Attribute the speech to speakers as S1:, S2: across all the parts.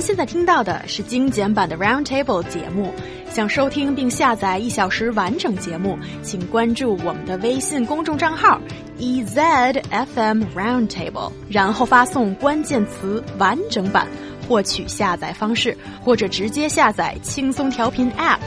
S1: 现在听到的是精简版的 Roundtable 节目。想收听并下载1小时完整节目，请关注我们的微信公众账号 EZFM Roundtable， 然后发送关键词完整版获取下载方式，或者直接下载轻松调频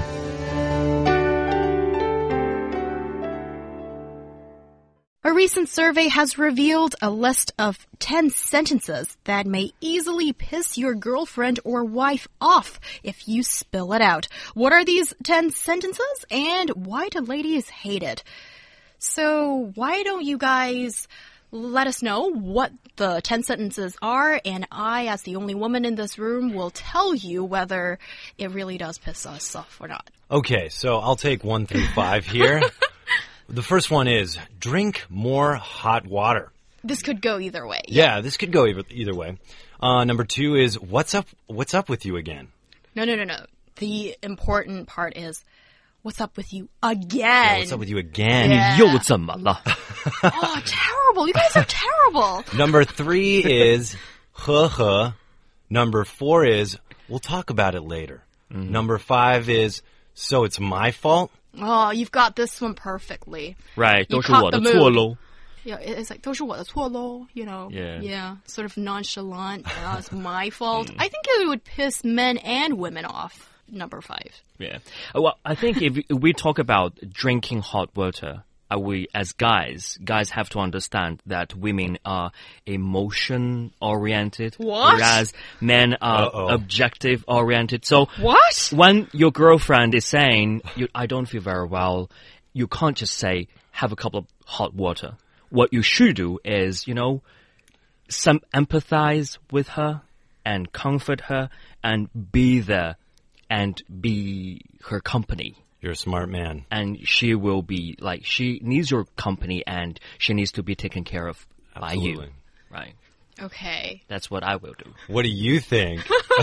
S1: App。A recent survey has revealed a list of 10 sentences that may easily piss your girlfriend or wife off if you spill it out. What are these 10 sentences and why do ladies hate it? So why don't you guys let us know what the 10 sentences are, and I, as the only woman in this room, will tell you whether it really does piss us off or not.
S2: Okay, so I'll take 1 through 5 here. The first one is, drink more hot water.
S1: This could go either way.
S2: Yeah, this could go either way. Number 2 is, what's up with you again?
S1: No. The important part is, what's up with you again?
S2: Yeah, what's up with you again?
S1: Yeah.
S3: 又怎么了?
S1: Oh, terrible. You guys are terrible.
S2: Number 3 is, 呵呵. Number 4 is, we'll talk about it later. Number 5 is, so it's my fault?
S1: Oh, you've got this one perfectly.
S3: Right,
S1: You
S3: 都是我的错咯.
S1: Yeah, it's like 都是我的错咯, you know.
S3: Yeah.
S1: Sort of nonchalant. It's my fault. I think it would piss men and women off. Number 5.
S3: Yeah. Well, I think if we talk about drinking hot water, we as guys have to understand that women are emotion-oriented.
S1: What?
S3: Whereas men are objective-oriented. So
S1: What?
S3: when your girlfriend is saying, I don't feel very well, you can't just say, have a cup of hot water. What you should do is, some empathize with her and comfort her and be there and be her company.
S2: You're a smart man.
S3: And she will be, she needs your company and she needs to be taken care of by you. Right.
S1: Okay.
S3: That's what I will do.
S2: What do you think?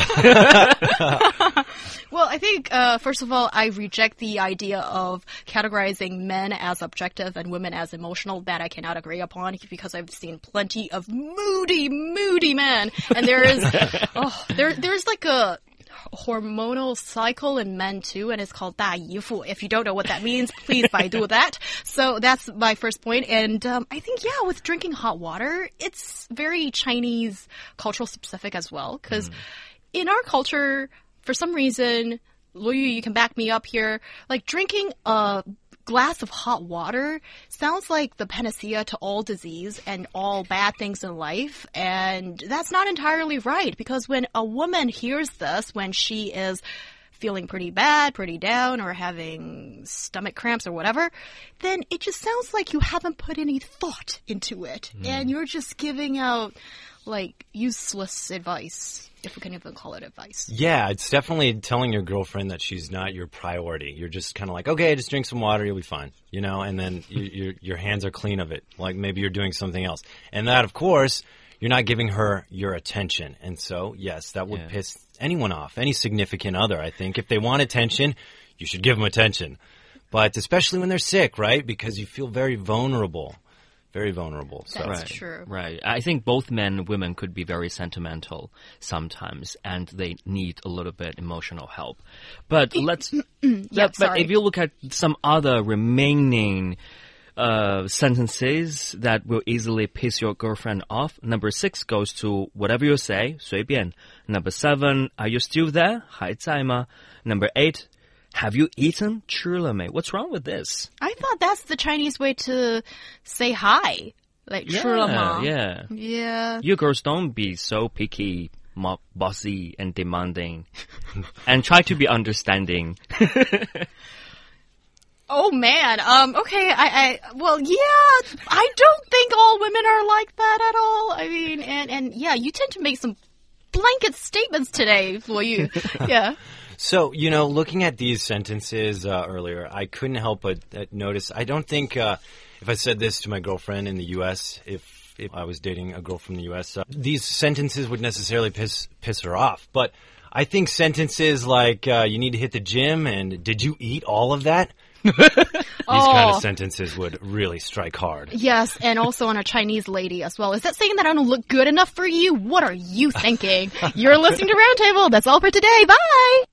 S1: Well, I think, first of all, I reject the idea of categorizing men as objective and women as emotional. That I cannot agree upon because I've seen plenty of moody men. And there is, there's like a hormonal cycle in men too, and it's called 大姨夫. If you don't know what that means, please Baidu that. So that's my first point. And I think, with drinking hot water, it's very Chinese cultural specific as well. Because in our culture, for some reason, Luo Yu, you can back me up here, like drinking a glass of hot water sounds like the panacea to all disease and all bad things in life. And that's not entirely right, because when a woman hears this, when she is feeling pretty bad, pretty down, or having stomach cramps or whatever, then it just sounds like you haven't put any thought into it. And you're just giving out useless advice, if we can even call it advice.
S2: Yeah, it's definitely telling your girlfriend that she's not your priority. You're just kind of like, okay, just drink some water, you'll be fine, and then your hands are clean of it. Like maybe you're doing something else. And that, of course, you're not giving her your attention. And so, yes, that would piss anyone off, any significant other, I think. If they want attention, you should give them attention. But especially when they're sick, right? Because you feel very vulnerable. Very vulnerable. So.
S1: That's true.
S3: Right. I think both men and women could be very sentimental sometimes, and they need a little bit emotional help. But let's. But if you look at some other remaining sentences that will easily piss your girlfriend off, number 6 goes to whatever you say, 随便. Number 7, are you still there? 还在吗? Number 8. Have you eaten? 吃了没? What's wrong with this?
S1: I thought that's the Chinese way to say hi. Like, 吃了吗?
S3: Yeah. You girls don't be so picky, bossy, and demanding. And try to be understanding.
S1: Oh, man. Okay. I don't think all women are like that at all. I mean, and you tend to make some blanket statements today, Luo Yu. Yeah.
S2: So, looking at these sentences earlier, I couldn't help but notice, I don't think if I said this to my girlfriend in the U.S., if I was dating a girl from the U.S., these sentences would necessarily piss her off. But I think sentences like, you need to hit the gym and did you eat all of that? These kind of sentences would really strike hard.
S1: Yes, and also on a Chinese lady as well. Is that saying that I don't look good enough for you? What are you thinking? You're listening to Roundtable. That's all for today. Bye!